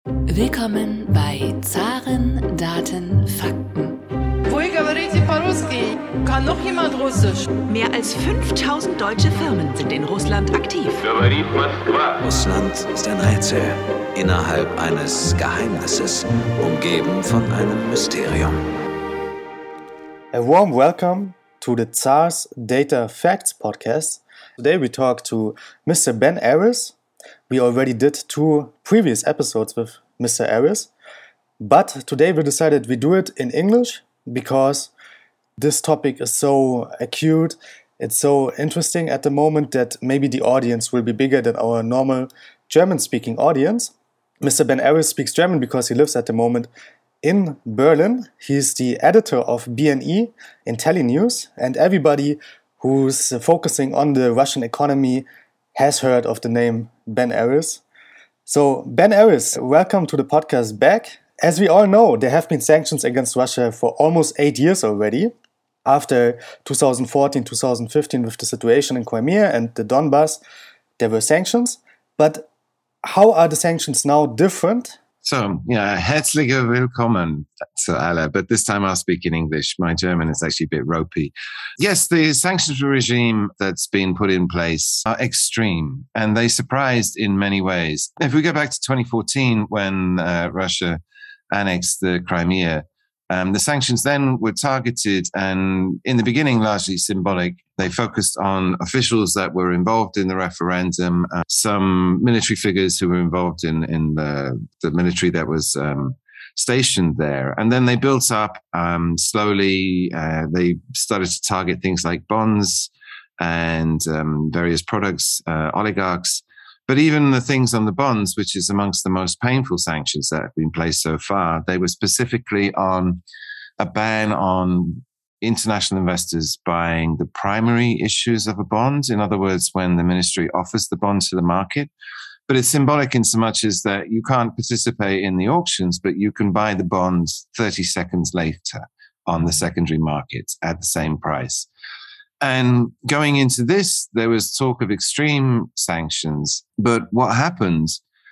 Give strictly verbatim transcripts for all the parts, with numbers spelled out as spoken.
Willkommen bei Zaren, Daten, Fakten. Вы говорите по-русски? Kann noch jemand Russisch? Mehr als fünftausend deutsche Firmen sind in Russland aktiv. Говорит Москва. Russland ist ein Rätsel innerhalb eines Geheimnisses, umgeben von einem Mysterium. A warm welcome to the Tsar's Data Facts podcast. Today we talk to Mister Ben Aris. We already did two previous episodes with Mister Aris, but today we decided we do it in English because this topic is so acute, it's so interesting at the moment that maybe the audience will be bigger than our normal German-speaking audience. Mister Ben Aris speaks German because he lives at the moment in Berlin. He's the editor of B N E IntelliNews, and everybody who's focusing on the Russian economy has heard of the name Ben Aris. So, Ben Aris, welcome to the podcast back. As we all know, there have been sanctions against Russia for almost eight years already. After twenty fourteen, twenty fifteen, with the situation in Crimea and the Donbass, there were sanctions. But how are the sanctions now different? So, yeah, herzliche Willkommen to alle, but this time I'll speak in English. My German is actually a bit ropey. Yes, the sanctions regime that's been put in place are extreme, and they surprised in many ways. If we go back to twenty fourteen, when uh, Russia annexed the Crimea, um, the sanctions then were targeted and, in the beginning, largely symbolic. They focused on officials that were involved in the referendum, uh, some military figures who were involved in, in the, the military that was um, stationed there. And then they built up um, slowly. Uh, they started to target things like bonds and um, various products, uh, oligarchs. But even the things on the bonds, which is amongst the most painful sanctions that have been placed so far, they were specifically on a ban on international investors buying the primary issues of a bond. In other words, when the ministry offers the bond to the market. But it's symbolic in so much as that you can't participate in the auctions, but you can buy the bonds thirty seconds later on the secondary market at the same price. And going into this, there was talk of extreme sanctions. But what happened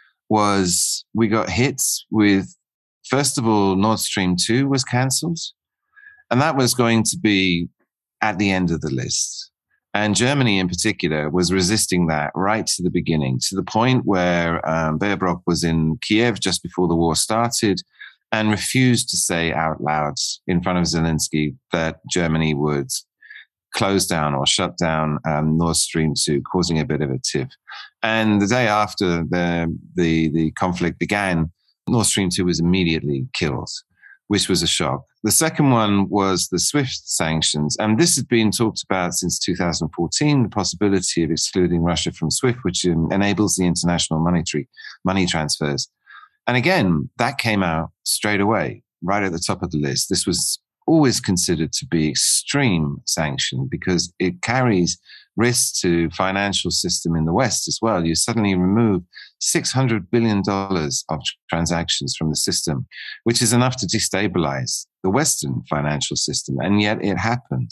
was we got hit with, first of all, Nord Stream two was cancelled. And that was going to be at the end of the list. And Germany in particular was resisting that right to the beginning, to the point where um, Baerbock was in Kiev just before the war started and refused to say out loud in front of Zelensky that Germany would close down or shut down um, Nord Stream two, causing a bit of a tiff. And the day after the, the, the conflict began, Nord Stream two was immediately killed, which was a shock. The second one was the SWIFT sanctions. And this had been talked about since two thousand fourteen, the possibility of excluding Russia from SWIFT, which um, enables the international monetary money transfers. And again, that came out straight away, right at the top of the list. This was always considered to be extreme sanction because it carries risks to financial system in the West as well. You suddenly remove six hundred billion dollars of transactions from the system, which is enough to destabilize the Western financial system. And yet it happened.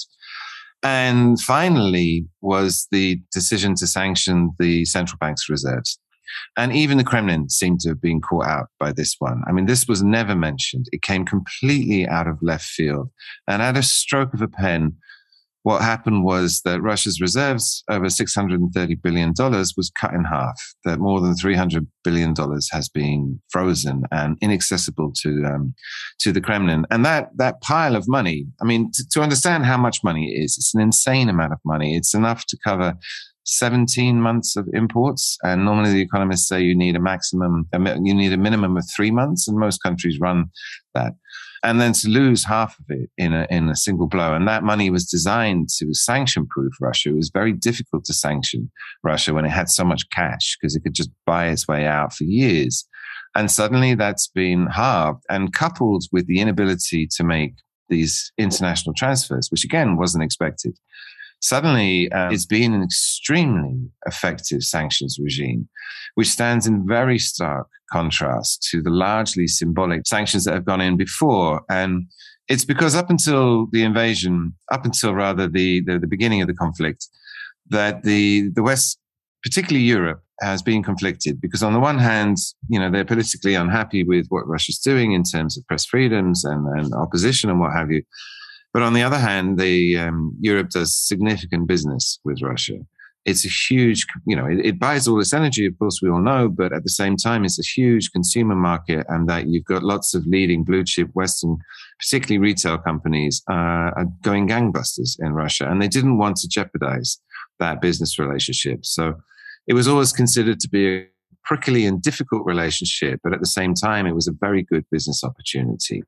And finally was the decision to sanction the central bank's reserves. And even the Kremlin seemed to have been caught out by this one. I mean, this was never mentioned. It came completely out of left field. And at a stroke of a pen, what happened was that Russia's reserves, over six hundred thirty billion dollars, was cut in half. That more than three hundred billion dollars has been frozen and inaccessible to um, to the Kremlin. And that that pile of money, I mean, to, to understand how much money it is, it's an insane amount of money. It's enough to cover seventeen months of imports. And normally the economists say you need a maximum, you need a minimum of three months, and most countries run that. And then to lose half of it in a, in a single blow. And that money was designed to sanction-proof Russia. It was very difficult to sanction Russia when it had so much cash because it could just buy its way out for years. And suddenly that's been halved, and coupled with the inability to make these international transfers, which again wasn't expected. Suddenly, uh, it's been an extremely effective sanctions regime, which stands in very stark contrast to the largely symbolic sanctions that have gone in before. And it's because up until the invasion, up until rather the, the, the beginning of the conflict, that the, the West particularly Europe, has been conflicted because on the one hand, you know, they're politically unhappy with what Russia's doing in terms of press freedoms and, and opposition and what have you. But on the other hand, the um, Europe does significant business with Russia. It's a huge, you know, it, it buys all this energy, of course, we all know, but at the same time, it's a huge consumer market, and that you've got lots of leading blue chip Western, particularly retail companies, uh, are going gangbusters in Russia, and they didn't want to jeopardize that business relationship. So it was always considered to be a prickly and difficult relationship, but at the same time, it was a very good business opportunity.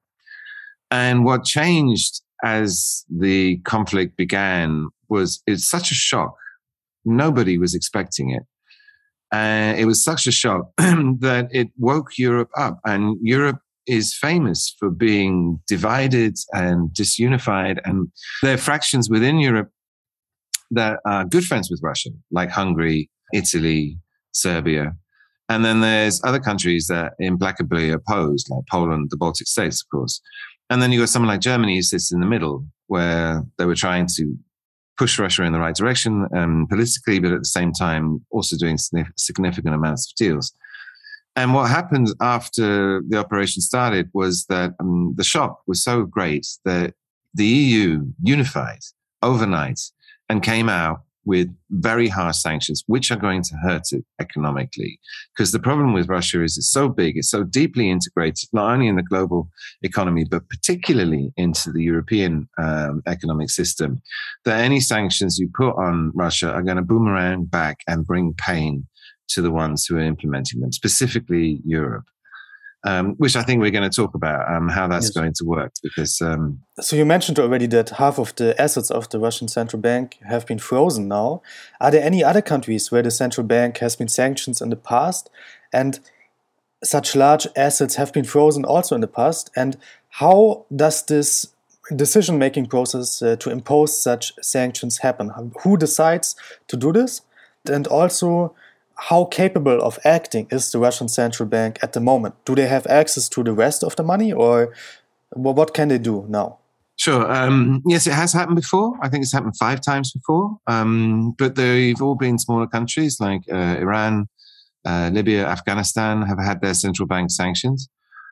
And what changed as the conflict began was it's such a shock. Nobody was expecting it. And uh, it was such a shock that it woke Europe up. And Europe is famous for being divided and disunified. And there are fractions within Europe that are good friends with Russia, like Hungary, Italy, Serbia. And then there's other countries that are implacably opposed, like Poland, the Baltic states, of course. And then you've got someone like Germany who sits in the middle, where they were trying to push Russia in the right direction um, politically, but at the same time also doing significant amounts of deals. And what happened after the operation started was that um, the shock was so great that the E U unified overnight and came out with very harsh sanctions, which are going to hurt it economically. Because the problem with Russia is it's so big, it's so deeply integrated, not only in the global economy, but particularly into the European um, economic system, that any sanctions you put on Russia are going to boomerang back and bring pain to the ones who are implementing them, specifically Europe. Um, which I think we're going to talk about, um, how that's yes. going to work. Because um, so you mentioned already that half of the assets of the Russian central bank have been frozen now. Are there any other countries where the central bank has been sanctioned in the past, and such large assets have been frozen also in the past? And how does this decision-making process uh, to impose such sanctions happen? Who decides to do this? And also, how capable of acting is the Russian central bank at the moment? Do they have access to the rest of the money, or what can they do now? Sure. Um, yes, it has happened before. I think it's happened five times before. Um, but they've all been smaller countries like uh, Iran, uh, Libya, Afghanistan have had their central bank sanctions.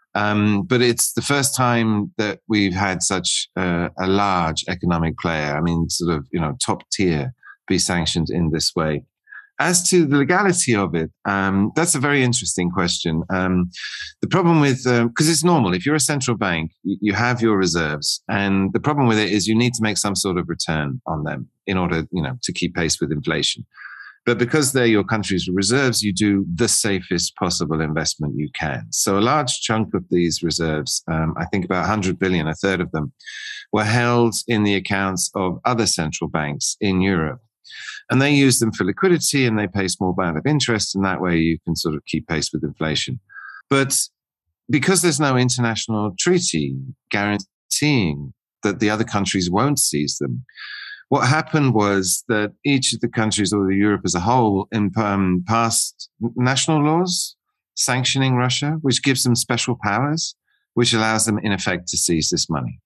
Um, but it's the first time that we've had such uh, a large economic player, I mean, sort of, you know, top tier, be sanctioned in this way. As to the legality of it, um, that's a very interesting question. Um, the problem with, because uh, it's normal, if you're a central bank, you, you have your reserves, and the problem with it is you need to make some sort of return on them in order, you know, to keep pace with inflation. But because they're your country's reserves, you do the safest possible investment you can. So a large chunk of these reserves, um, I think about one hundred billion, a third of them, were held in the accounts of other central banks in Europe. And they use them for liquidity, and they pay a small amount of interest, and that way you can sort of keep pace with inflation. But because there's no international treaty guaranteeing that the other countries won't seize them, what happened was that each of the countries, or Europe as a whole, um, passed national laws sanctioning Russia, which gives them special powers, which allows them, in effect, to seize this money.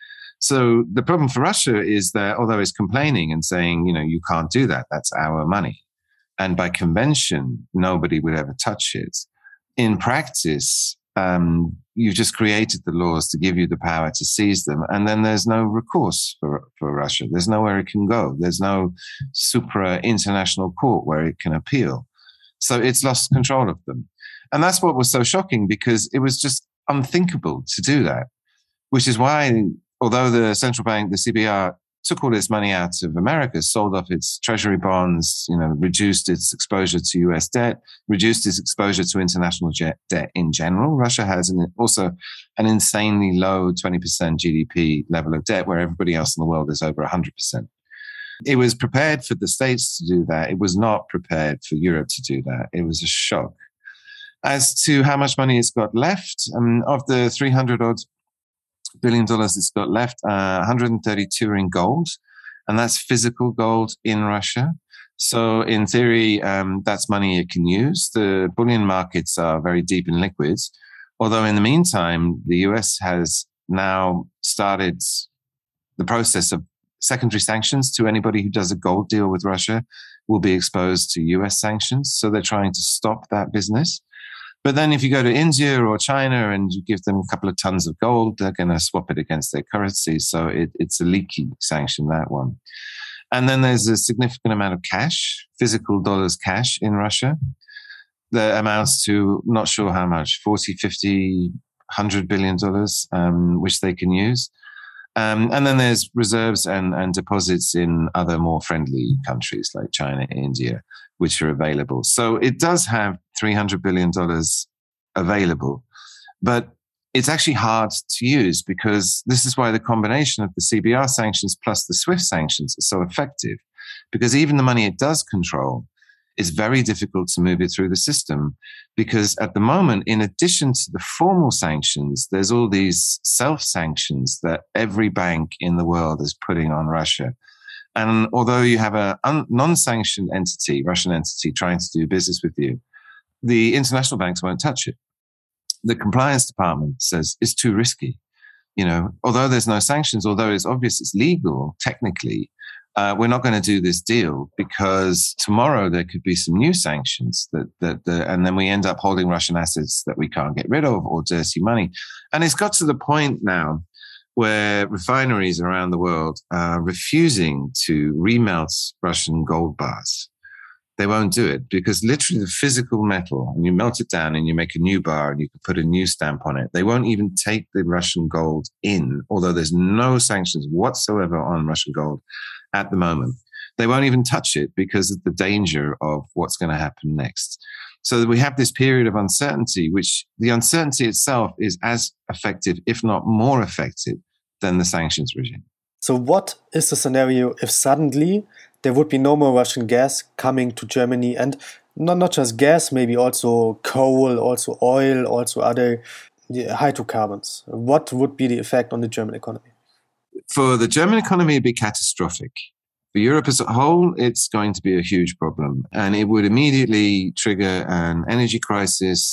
So the problem for Russia is that although it's complaining and saying, you know, you can't do that, that's our money, and by convention, nobody would ever touch it, in practice, um, you've just created the laws to give you the power to seize them, and then there's no recourse for, for Russia. There's nowhere it can go. There's no supra-international court where it can appeal. So it's lost control of them. And that's what was so shocking, because it was just unthinkable to do that, which is why, although the central bank, the C B R, took all its money out of America, sold off its treasury bonds, you know, reduced its exposure to U S debt, reduced its exposure to international jet debt in general. Russia has an, also an insanely low twenty percent G D P level of debt, where everybody else in the world is over one hundred percent. It was prepared for the States to do that. It was not prepared for Europe to do that. It was a shock. As to how much money it's got left, um, of the three hundred odd billion dollars it's got left, uh, one hundred thirty-two are in gold, and that's physical gold in Russia. So in theory, um, that's money it can use. The bullion markets are very deep in liquids, although in the meantime, the U S has now started the process of secondary sanctions to anybody who does a gold deal with Russia, will be exposed to U S sanctions. So they're trying to stop that business. But then if you go to India or China and you give them a couple of tons of gold, they're going to swap it against their currency. So it, it's a leaky sanction, that one. And then there's a significant amount of cash, physical dollars cash in Russia that amounts to not sure how much, forty, fifty, one hundred billion dollars, um, which they can use. Um, and then there's reserves and, and deposits in other more friendly countries like China, India, which are available. So it does have three hundred billion dollars available, but it's actually hard to use because this is why the combination of the C B R sanctions plus the SWIFT sanctions is so effective, because even the money it does control, it's very difficult to move it through the system because at the moment, in addition to the formal sanctions, there's all these self-sanctions that every bank in the world is putting on Russia. And although you have a un- non-sanctioned entity, Russian entity, trying to do business with you, the international banks won't touch it. The compliance department says it's too risky. You know, although there's no sanctions, although it's obvious it's legal technically, uh, we're not going to do this deal because tomorrow there could be some new sanctions that that, that and then we end up holding Russian assets that we can't get rid of or dirty money. And it's got to the point now where refineries around the world are refusing to remelt Russian gold bars. They won't do it because literally the physical metal, and you melt it down and you make a new bar and you can put a new stamp on it. They won't even take the Russian gold in, although there's no sanctions whatsoever on Russian gold at the moment. They won't even touch it because of the danger of what's going to happen next. So we have this period of uncertainty, which the uncertainty itself is as effective, if not more effective, than the sanctions regime. So what is the scenario if suddenly there would be no more Russian gas coming to Germany, and not, not just gas, maybe also coal, also oil, also other hydrocarbons? What would be the effect on the German economy? For the German economy, it'd be catastrophic. For Europe as a whole, it's going to be a huge problem, and it would immediately trigger an energy crisis.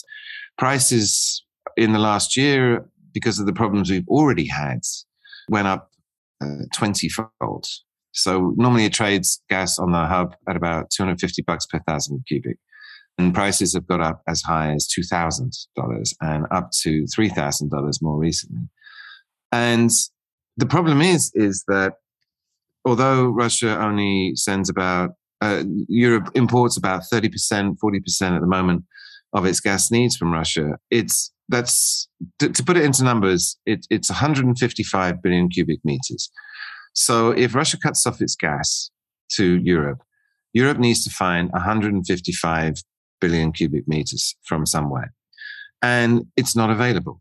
Prices in the last year, because of the problems we've already had, went up uh, twenty-fold. So normally it trades gas on the hub at about two hundred fifty bucks per thousand cubic. And prices have got up as high as two thousand dollars and up to three thousand dollars more recently. And the problem is, is that although Russia only sends about, uh, Europe imports about thirty percent, forty percent at the moment of its gas needs from Russia, it's, that's, to, to put it into numbers, it, it's one hundred fifty-five billion cubic meters. So if Russia cuts off its gas to Europe, Europe needs to find one hundred fifty-five billion cubic meters from somewhere. And it's not available.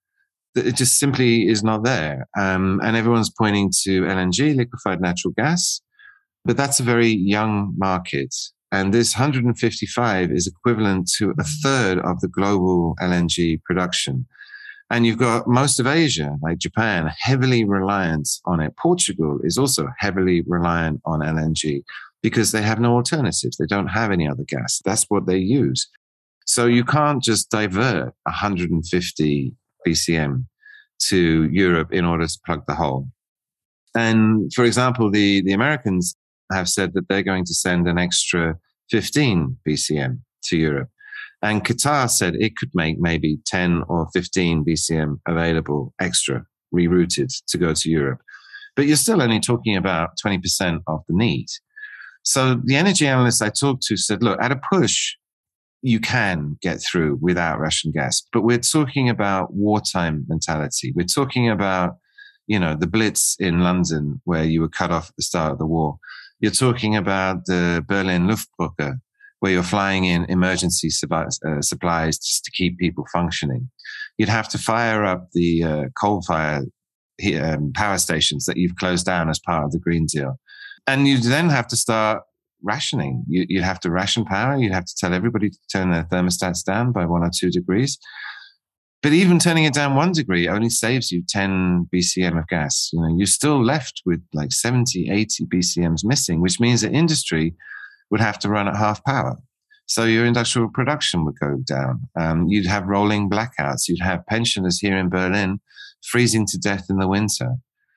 It just simply is not there. Um, and everyone's pointing to L N G, liquefied natural gas, but that's a very young market. And this one hundred fifty-five is equivalent to a third of the global L N G production. And you've got most of Asia, like Japan, heavily reliant on it. Portugal is also heavily reliant on L N G because they have no alternatives. They don't have any other gas. That's what they use. So you can't just divert one hundred fifty B C M to Europe in order to plug the hole. And for example, the, the Americans have said that they're going to send an extra fifteen B C M to Europe. And Qatar said it could make maybe ten or fifteen B C M available extra, rerouted to go to Europe. But you're still only talking about twenty percent of the need. So the energy analysts I talked to said, look, at a push, you can get through without Russian gas. But we're talking about wartime mentality. We're talking about, you know, the Blitz in London, where you were cut off at the start of the war. You're talking about the Berlin Luftbrücke, where you're flying in emergency supplies, uh, supplies just to keep people functioning. You'd have to fire up the uh, coal-fired um, power stations that you've closed down as part of the Green Deal. And you'd then have to start rationing. You, you'd have to ration power. You'd have to tell everybody to turn their thermostats down by one or two degrees. But even turning it down one degree only saves you ten B C M of gas. You know, you're still left with like seventy, eighty B C Ms missing, which means that industry would have to run at half power. So your industrial production would go down. Um, you'd have rolling blackouts. You'd have pensioners here in Berlin freezing to death in the winter.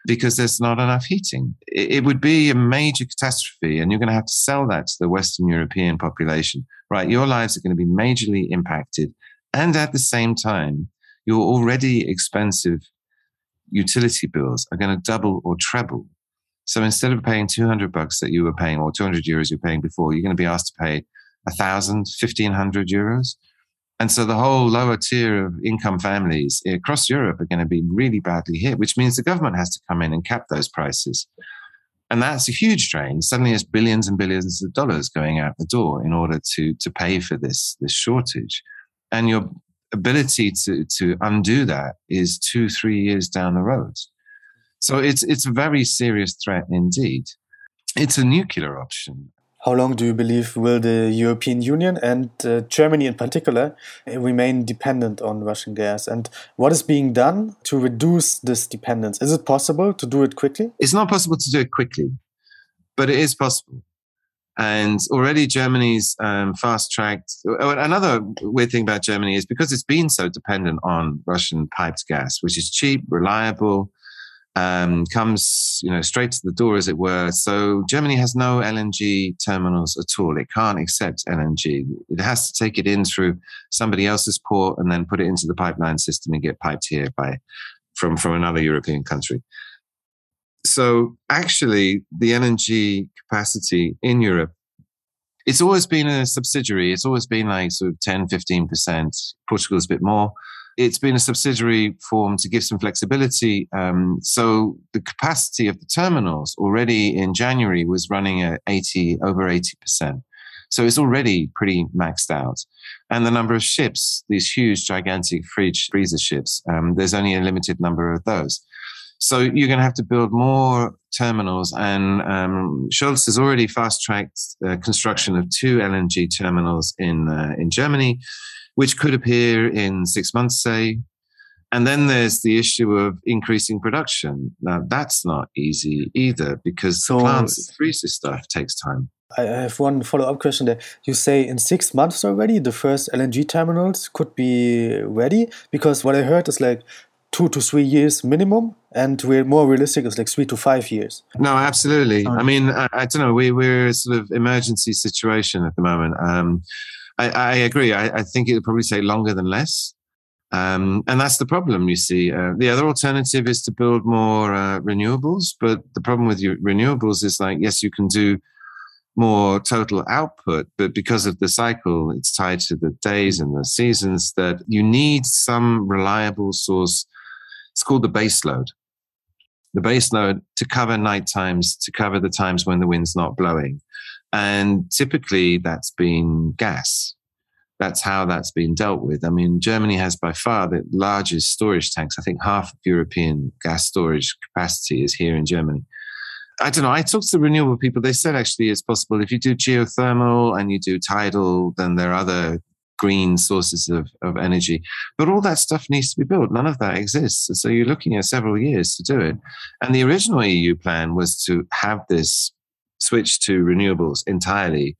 because there's not enough heating. It, it would be a major catastrophe, and you're going to have to sell that to the Western European population. Right, your lives are going to be majorly impacted, and at the same time, your already expensive utility bills are going to double or treble. So instead of paying two hundred bucks that you were paying, or two hundred euros you're paying before, you're going to be asked to pay one thousand, fifteen hundred euros. And so the whole lower tier of income families across Europe are going to be really badly hit, which means the government has to come in and cap those prices. And that's a huge drain. Suddenly there's billions and billions of dollars going out the door in order to, to pay for this, this shortage. And your ability to, to undo that is two, three years down the road. So it's, it's a very serious threat indeed. It's a nuclear option. How long do you believe will the European Union and uh, Germany in particular remain dependent on Russian gas? And what is being done to reduce this dependence? Is it possible to do it quickly? It's not possible to do it quickly, but it is possible. And already Germany's um, fast-tracked... Another weird thing about Germany is because it's been so dependent on Russian piped gas, which is cheap, reliable, Um, comes, you know, straight to the door, as it were. So Germany has no L N G terminals at all. It can't accept L N G. It has to take it in through somebody else's port and then put it into the pipeline system and get piped here by from, from another European country. So actually, the L N G capacity in Europe, it's always been a subsidiary. It's always been like sort of ten, fifteen percent. Portugal's a bit more. It's been a subsidiary form to give some flexibility. Um, so the capacity of the terminals already in January was running at eighty, over eighty percent. So it's already pretty maxed out. And the number of ships, these huge, gigantic fridge freezer ships, um, there's only a limited number of those. So you're going to have to build more terminals. And um, Scholz has already fast-tracked uh, construction of two L N G terminals in uh, in Germany, which could appear in six months, say. And then there's the issue of increasing production. Now, that's not easy either, because so, the plants that freeze this stuff takes time. I have one follow-up question there. You say in six months already, the first L N G terminals could be ready? Because what I heard is like two to three years minimum, and we're more realistic is like three to five years. No, absolutely. Sorry. I mean, I, I don't know, we, we're a sort of emergency situation at the moment. Um, I, I agree. I, I think it would probably take longer than less. Um, and that's the problem, you see. Uh, the other alternative is to build more uh, renewables. But the problem with your renewables is like, yes, you can do more total output, but because of the cycle, it's tied to the days and the seasons, that you need some reliable source. It's called the base load. The base load to cover night times, to cover the times when the wind's not blowing. And typically that's been gas. That's how that's been dealt with. I mean, Germany has by far the largest storage tanks. I think half of European gas storage capacity is here in Germany. I don't know. I talked to the renewable people. They said actually it's possible. If you do geothermal and you do tidal, then there are other green sources of, of energy. But all that stuff needs to be built. None of that exists. So you're looking at several years to do it. And the original E U plan was to have this switch to renewables entirely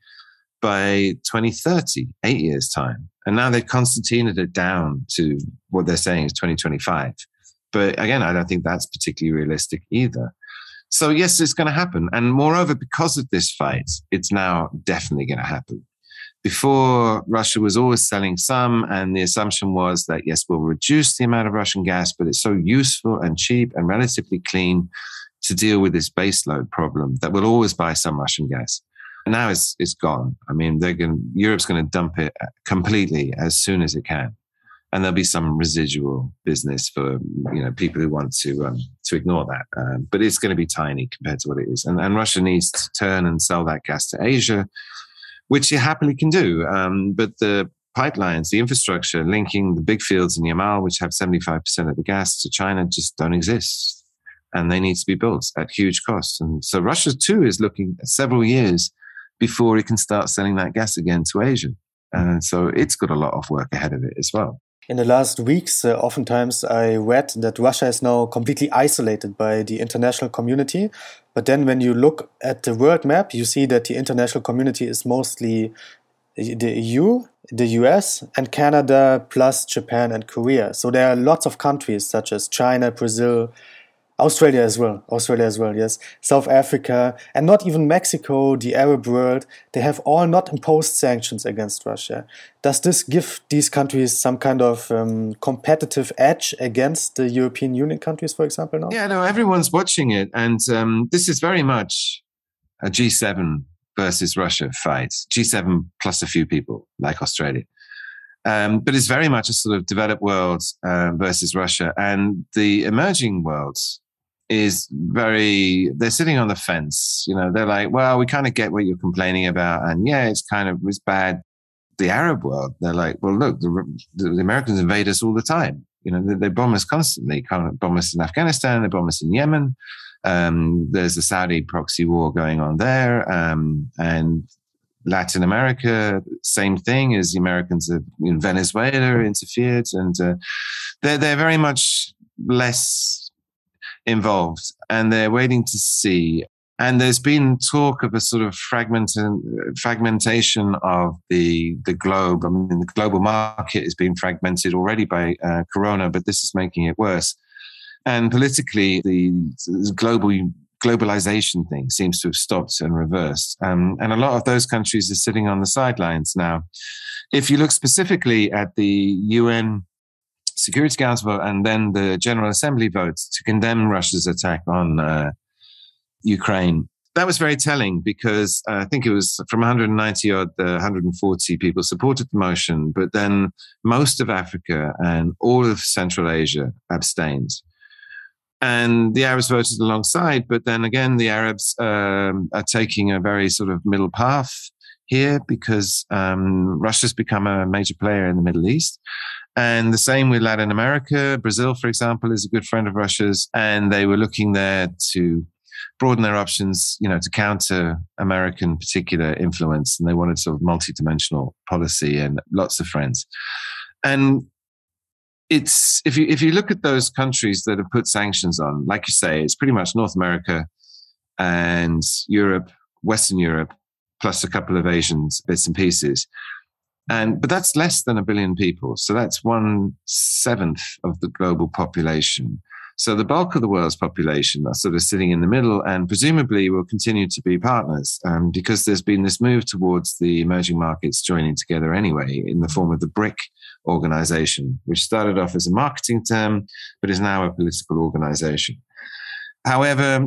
by twenty thirty, eight years' time. And now they've concertinaed it down to what they're saying is twenty twenty-five. But again, I don't think that's particularly realistic either. So yes, it's going to happen. And moreover, because of this fight, it's now definitely going to happen. Before, Russia was always selling some, and the assumption was that, yes, we'll reduce the amount of Russian gas, but it's so useful and cheap and relatively clean to deal with this baseload problem that we'll always buy some Russian gas. And now it's it's gone. I mean, they're going. Europe's going to dump it completely as soon as it can, and there'll be some residual business for you know people who want to um, to ignore that. Um, but it's going to be tiny compared to what it is. And, and Russia needs to turn and sell that gas to Asia, which it happily can do. Um, but the pipelines, the infrastructure linking the big fields in Yamal, which have seventy-five percent of the gas, to China, just don't exist, and they need to be built at huge cost. And so Russia too is looking at several years before it can start selling that gas again to Asia. And so it's got a lot of work ahead of it as well. In the last weeks, uh, oftentimes I read that Russia is now completely isolated by the international community. But then when you look at the world map, you see that the international community is mostly the E U, the U S, and Canada, plus Japan and Korea. So there are lots of countries such as China, Brazil, Australia as well. Australia as well, yes. South Africa, and not even Mexico, the Arab world, they have all not imposed sanctions against Russia. Does this give these countries some kind of um, competitive edge against the European Union countries, for example, now? Yeah, no, everyone's watching it. And um, this is very much a G seven versus Russia fight. G seven plus a few people, like Australia. Um, but it's very much a sort of developed world uh, versus Russia. And the emerging world is very, they're sitting on the fence. You know, they're like, well, we kind of get what you're complaining about. And yeah, it's kind of, it's bad. The Arab world, they're like, well, look, the, the Americans invade us all the time. You know, they, they bomb us constantly. They bomb us in Afghanistan, they bomb us in Yemen. Um, there's a Saudi proxy war going on there. Um, and Latin America, same thing as the Americans have, in Venezuela interfered, and uh, they're they're very much less involved, and they're waiting to see. And there's been talk of a sort of fragment fragmentation of the the globe. I mean, the global market is being fragmented already by uh, Corona, but this is making it worse. And politically, the, the global globalization thing seems to have stopped and reversed. Um, and a lot of those countries are sitting on the sidelines now. If you look specifically at the U N Security Council and then the General Assembly votes to condemn Russia's attack on uh, Ukraine, that was very telling because uh, I think it was from one hundred ninety odd, uh, one hundred forty people supported the motion, but then most of Africa and all of Central Asia abstained. And the Arabs voted alongside, but then again, the Arabs um, are taking a very sort of middle path here because um, Russia's become a major player in the Middle East. And the same with Latin America. Brazil, for example, is a good friend of Russia's, and they were looking there to broaden their options, you know, to counter American particular influence. And they wanted sort of multi-dimensional policy and lots of friends. And It's if you if you look at those countries that have put sanctions on, like you say, it's pretty much North America and Europe, Western Europe, plus a couple of Asian bits and pieces. And but that's less than a billion people. So that's one seventh of the global population. So the bulk of the world's population are sort of sitting in the middle and presumably will continue to be partners um, because there's been this move towards the emerging markets joining together anyway in the form of the BRIC organization, which started off as a marketing term, but is now a political organization. However,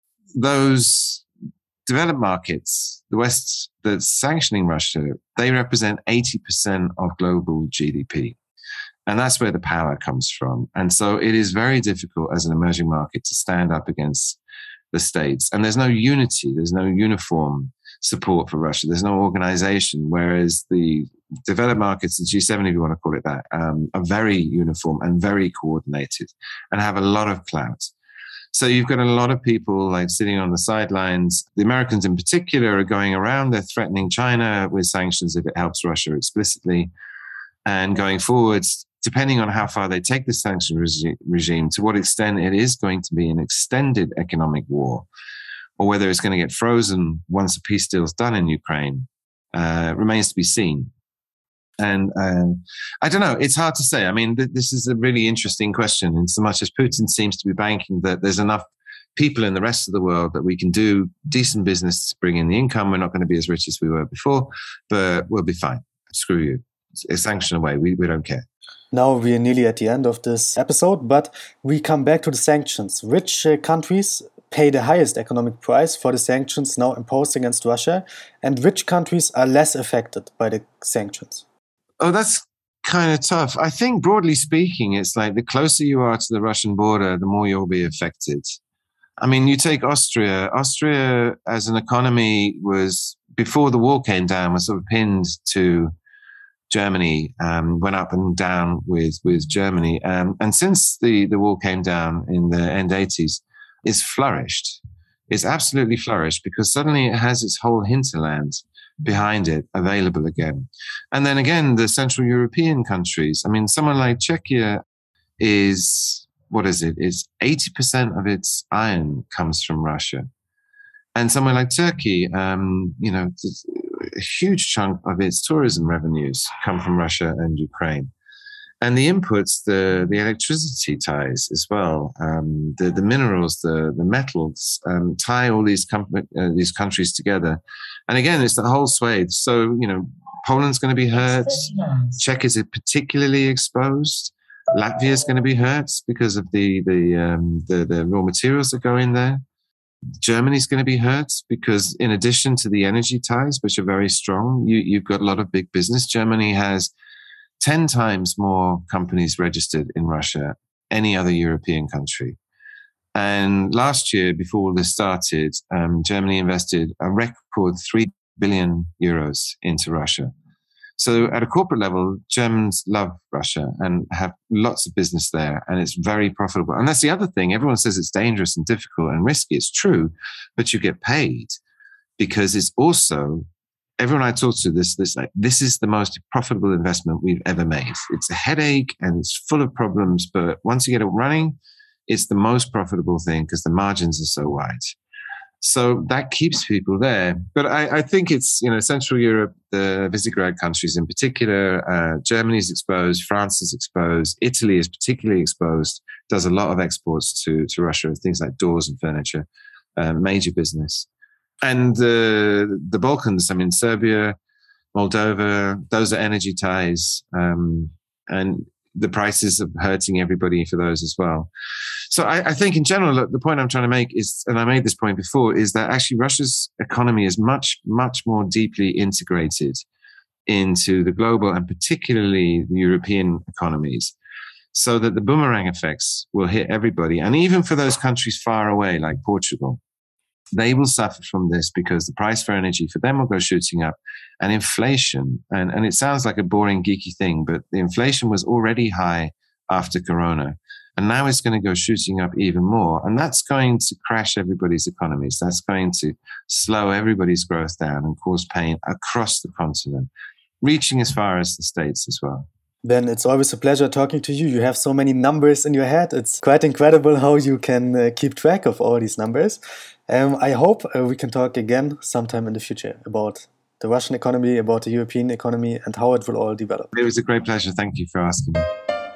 those developed markets, the West that's sanctioning Russia, they represent eighty percent of global G D P. And that's where the power comes from. And so it is very difficult as an emerging market to stand up against the states. And there's no unity, there's no uniform support for Russia. There's no organization, whereas the developed markets, the G seven, if you want to call it that, um, are very uniform and very coordinated and have a lot of clout. So you've got a lot of people like sitting on the sidelines. The Americans in particular are going around. They're threatening China with sanctions if it helps Russia explicitly. And going forwards, depending on how far they take the sanction regi- regime, to what extent it is going to be an extended economic war, or whether it's going to get frozen once a peace deal is done in Ukraine, uh, remains to be seen. And uh, I don't know, it's hard to say. I mean, th- this is a really interesting question, in so much as Putin seems to be banking that there's enough people in the rest of the world that we can do decent business to bring in the income. We're not going to be as rich as we were before, but we'll be fine. Screw you. Sanction away. We, we don't care. Now we are nearly at the end of this episode, but we come back to the sanctions. Which uh, countries pay the highest economic price for the sanctions now imposed against Russia, and which countries are less affected by the sanctions? Oh, that's kind of tough. I think broadly speaking, it's like the closer you are to the Russian border, the more you'll be affected. I mean, you take Austria. Austria as an economy was, before the wall came down, was sort of pinned to Germany, um, went up and down with, with Germany. Um, and since the, the wall came down in the end eighties, it's flourished. It's absolutely flourished because suddenly it has its whole hinterland behind it available again. And then again, the Central European countries. I mean, someone like Czechia is, what is it? It's eighty percent of its iron comes from Russia. And somewhere like Turkey, um, you know, a huge chunk of its tourism revenues come from Russia and Ukraine. And the inputs, the, the electricity ties as well, um, the, the minerals, the, the metals, um, tie all these, com- uh, these countries together. And again, it's the whole swathe. So, you know, Poland's going to be hurt. Czech is particularly exposed. Latvia is going to be hurt because of the, the, um, the, the raw materials that go in there. Germany's going to be hurt because in addition to the energy ties, which are very strong, you, you've got a lot of big business. Germany has ten times more companies registered in Russia, any other European country. And last year, before all this started, um, Germany invested a record three billion euros into Russia. So at a corporate level, Germans love Russia and have lots of business there, and it's very profitable. And that's the other thing. Everyone says it's dangerous and difficult and risky. It's true, but you get paid because it's also, everyone I talk to, this, this, like, this is the most profitable investment we've ever made. It's a headache and it's full of problems, but once you get it running, it's the most profitable thing because the margins are so wide. So that keeps people there. But I, I think it's, you know, Central Europe, the Visegrad countries in particular, uh, Germany is exposed, France is exposed, Italy is particularly exposed, does a lot of exports to, to Russia, things like doors and furniture, uh, major business. And uh, the Balkans, I mean, Serbia, Moldova, those are energy ties. Um, and the prices are hurting everybody for those as well. So I, I think in general, look, the point I'm trying to make is, and I made this point before, is that actually Russia's economy is much, much more deeply integrated into the global and particularly the European economies, so that the boomerang effects will hit everybody. And even for those countries far away, like Portugal, they will suffer from this because the price for energy for them will go shooting up, and inflation. And, and it sounds like a boring, geeky thing, but the inflation was already high after Corona. And now it's going to go shooting up even more. And that's going to crash everybody's economies. That's going to slow everybody's growth down and cause pain across the continent, reaching as far as the States as well. Ben, it's always a pleasure talking to you. You have so many numbers in your head. It's quite incredible how you can uh, keep track of all these numbers. Um, I hope uh, we can talk again sometime in the future about the Russian economy, about the European economy, and how it will all develop. It was a great pleasure. Thank you for asking me.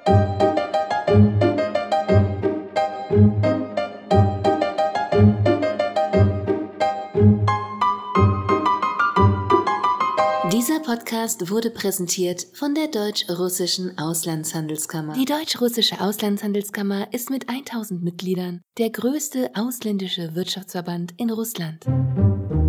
Dieser Podcast wurde präsentiert von der Deutsch-Russischen Auslandshandelskammer. Die Deutsch-Russische Auslandshandelskammer ist mit tausend Mitgliedern der größte ausländische Wirtschaftsverband in Russland.